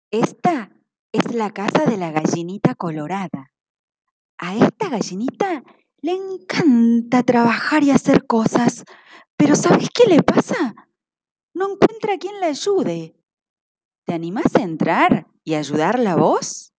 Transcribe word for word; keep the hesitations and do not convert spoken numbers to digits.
Esta es la casa de la gallinita colorada. A esta gallinita le encanta trabajar y hacer cosas, pero ¿sabes qué le pasa? No encuentra quien la ayude. ¿Te animás a entrar y ayudarla vos?